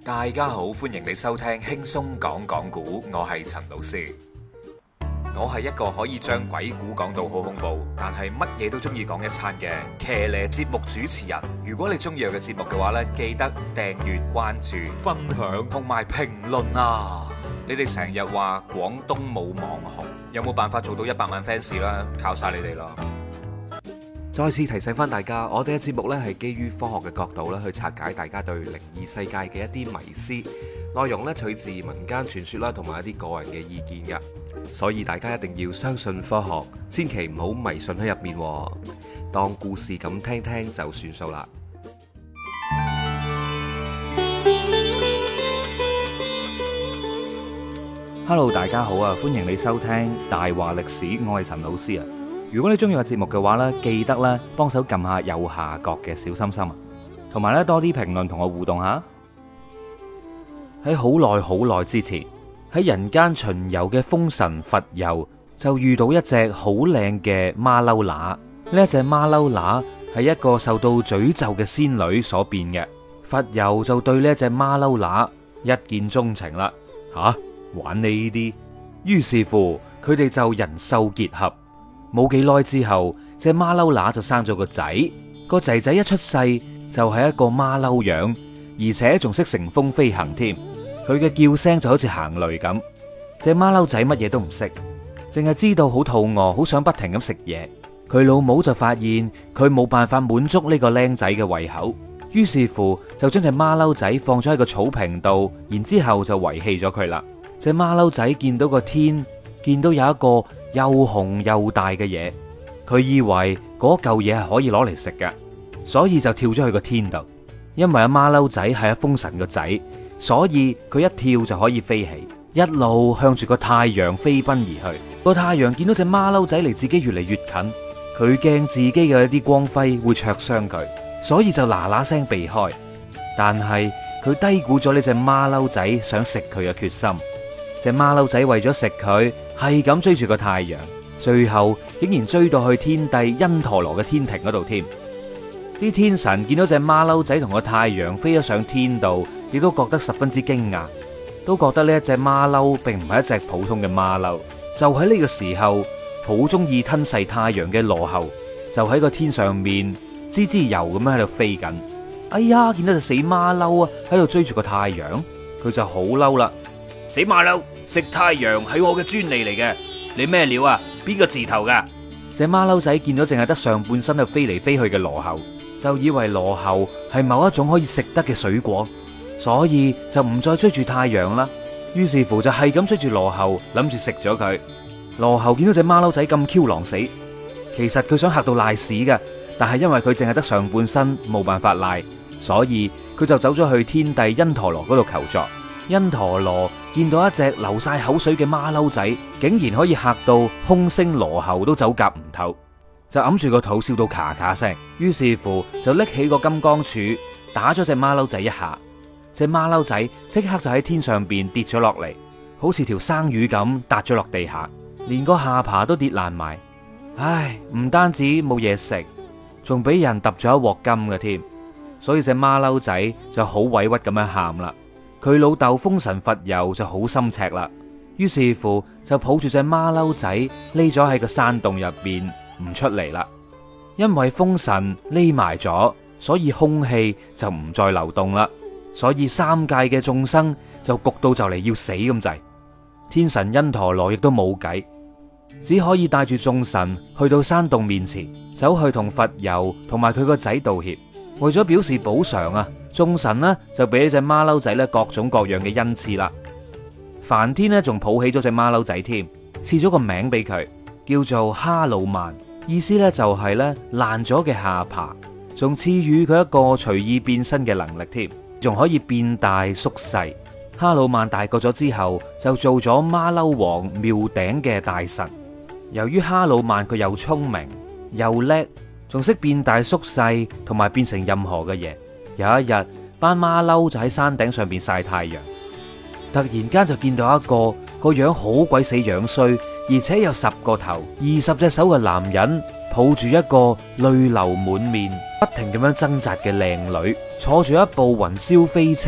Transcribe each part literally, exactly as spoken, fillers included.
大家好，歡迎你收聽輕鬆講講古，我係陳老師。我係一個可以將鬼故講到好恐怖，但係乜嘢都中意講一餐嘅騎呢節目主持人。如果你中意我嘅節目嘅話呢，記得訂閱、關注、分享同埋評論啊！你哋成日話廣東冇網紅，有冇辦法做到一百萬 fans 啦？靠晒你哋咯！再次提醒翻大家，我哋嘅節目呢係基於科學嘅角度咧去拆解大家對靈異世界嘅一啲迷思，內容呢取自民間傳說啦，同埋一啲個人嘅意見嘅，所以大家一定要相信科學，千祈唔好迷信喺入面，當故事咁聽聽就算數啦。 Hello， 大家好啊！歡迎你收聽大話歷史，我係陳老師啊。如果你中意個節目嘅話呢，記得咧幫手撳下右下角嘅小心心啊，同埋咧多啲評論同我互動下。喺好耐好耐之前，喺人間巡遊嘅風神佛佑就遇到一隻好靚嘅馬騮乸。呢一隻馬騮乸係一個受到詛咒嘅仙女所變嘅。佛佑就對呢一隻馬騮乸一見鍾情啦。吓、啊，玩你呢啲？於是乎，佢哋就人獸結合。冇幾耐之後，隻馬騮乸就生咗個仔。個仔仔一出世就係一個馬騮樣，而且仲識乘風飛行添。佢嘅叫聲就好似行雷咁。隻馬騮仔乜嘢都唔識，淨係知道好肚餓，好想不停咁食嘢。佢老母就發現佢冇辦法滿足呢個僆仔嘅胃口，於是乎就將隻馬騮仔放咗喺個草坪度，然之後就遺棄咗佢啦。隻馬騮仔見到個天，見到有一個又紅又大嘅嘢，佢以為嗰嚿嘢係可以攞嚟食嘅，所以就跳咗去個天度。因為阿馬騮仔係阿風神個仔，所以佢一跳就可以飛起，一路向住個太陽飛奔而去。個太陽見到隻馬騮仔離自己越嚟越近，佢驚自己嘅一啲光輝會灼傷佢，所以就嗱嗱聲避開。但係佢低估咗呢隻馬騮仔想食佢嘅決心。隻馬騮仔為咗食佢，係咁追住個太陽，最後竟然追到去天帝因陀羅嘅天庭嗰度添。啲天神見到隻馬騮仔同個太陽飛咗上天度，亦都覺得十分之驚訝，都覺得呢一隻馬騮並唔係一隻普通嘅馬騮。就喺呢個時候，好中意吞噬太陽嘅羅睺就喺個天上面滋滋游咁樣喺度飛緊。哎呀，見到隻死馬騮啊喺度追住個太陽，佢就好嬲啦！死馬騮，食太陽係我嘅專利嚟嘅，你咩料啊？邊個字頭噶？隻馬騮仔見到淨係得上半身喺度飛嚟飛去嘅羅睺，就以為羅睺係某一種可以食得嘅水果，所以就唔再追住太陽啦。於是乎就係咁追住羅睺，諗住食咗佢。羅睺見到隻馬騮仔咁 Q 狼死，其實佢想嚇到賴屎嘅，但係因為佢淨係得上半身，冇辦法賴，所以佢就走咗去天帝因陀羅嗰度求助。因陀羅見到一隻流晒口水嘅馬騮仔，竟然可以嚇到空星羅睺都走夾唔透，就揞住個肚笑到咔咔聲。於是乎就拎起個金剛杵打咗隻馬騮仔一下，隻馬騮仔即刻就喺天上邊跌咗落嚟，好似條生魚咁笪咗落地下，連個下巴都跌爛埋。唉，唔單止冇嘢食，仲俾人揼咗一鑊金嘅添，所以隻馬騮仔就好委屈咁樣喊啦。佢老豆風神佛佑就好心赤啦，於是乎就抱住隻馬騮仔匿咗喺個山洞入邊唔出嚟啦。因為風神匿埋咗，所以空氣就唔再流動啦，所以三界嘅眾生就焗到就嚟要死咁滯。天神因陀羅亦都冇計，只可以帶住眾神去到山洞面前，走去同佛佑同埋佢個仔道歉。為咗表示補償啊，眾神呢就俾呢隻馬騮仔咧各種各樣嘅恩賜啦。梵天呢仲抱起咗隻馬騮仔添，賜咗個名俾佢，叫做哈魯曼，意思呢就係咧爛咗嘅下巴，仲賜予佢一個隨意變身嘅能力添，仲可以變大縮細。哈魯曼大個咗之後，就做咗馬騮王廟頂嘅大臣。由於哈魯曼佢又聰明又叻，仲識變大縮細，同埋變成任何嘅嘢。有一日，班馬騮就喺山頂上邊曬太陽，突然間就見到一個個樣好鬼死樣衰，而且有十個頭、二十隻手嘅男人，抱住一個淚流滿面、不停咁樣掙扎嘅靚女，坐住一部雲霄飛車，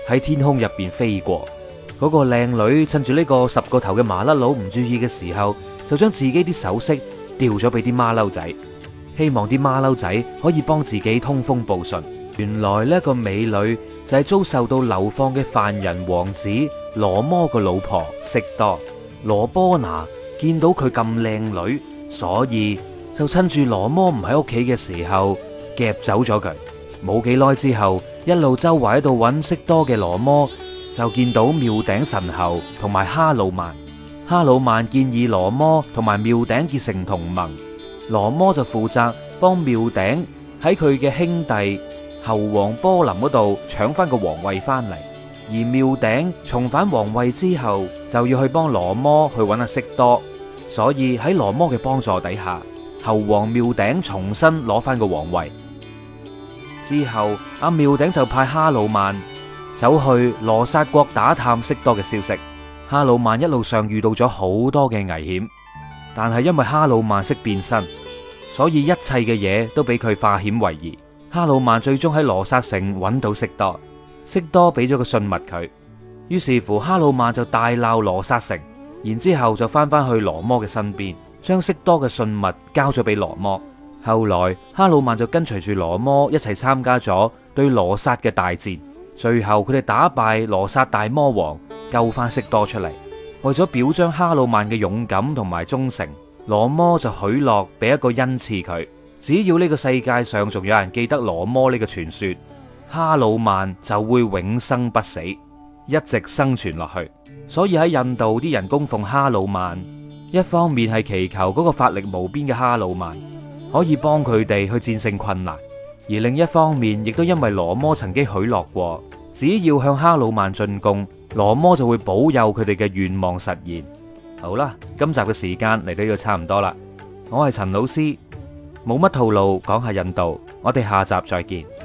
喺天空入邊飛過。嗰個靚女趁住呢個十個頭嘅麻甩佬唔注意嘅時候，就將自己啲首飾掉咗俾啲馬騮仔，希望啲馬騮仔可以幫自己通風報信。原來呢個美女就係遭受到流放嘅犯人王子羅摩個老婆悉多。羅波那見到佢咁靚女，所以就趁住羅摩唔喺屋企嘅時候夾走咗佢。冇幾耐之後，一路周圍喺度揾悉多嘅羅摩就見到廟頂神猴同埋哈魯曼。哈魯曼建議羅摩同埋廟頂結成同盟，羅摩就負責幫廟頂喺佢嘅兄弟猴王波林嗰度搶翻個皇位翻嚟。而廟頂重返皇位之後，就要去幫羅摩去揾阿悉多，所以喺羅摩嘅幫助底下，猴王廟頂重新攞翻個皇位。之後阿廟頂就派哈魯曼走去羅剎國打探悉多嘅消息。哈魯曼一路上遇到咗好多嘅危險，但係因為哈魯曼識變身，所以一切嘅嘢都俾佢化險為夷。哈魯曼最終喺羅剎城揾到悉多。悉多俾咗個信物佢，於是乎哈魯曼就大鬧羅剎城，然之後就翻翻去羅摩嘅身邊，將悉多嘅信物交咗俾羅摩。後來哈魯曼就跟隨住羅摩一齊參加咗對羅剎嘅大戰，最後佢哋打敗羅剎大魔王，救翻悉多出嚟。為咗表彰哈魯曼嘅勇敢同埋忠誠，羅摩就許諾俾一個恩賜佢，只要呢個世界上仲有人記得羅摩呢個傳說，哈魯曼就會永生不死，一直生存落去。所以喺印度啲人供奉哈魯曼，一方面係祈求嗰個法力無邊嘅哈魯曼可以幫佢哋去戰勝困難，而另一方面亦都因為羅摩曾經許諾過，只要向哈魯曼進貢，羅摩就會保佑佢哋嘅願望實現。好啦，今集嘅時間嚟到呢度差唔多啦，我係陳老師，冇乜套路講下印度，我哋下集再見。